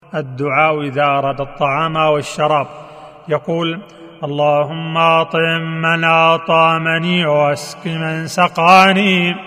الدعاء إذا أراد الطعام والشراب، يقول: اللهم أطعم من أطعمني واسق من سقاني.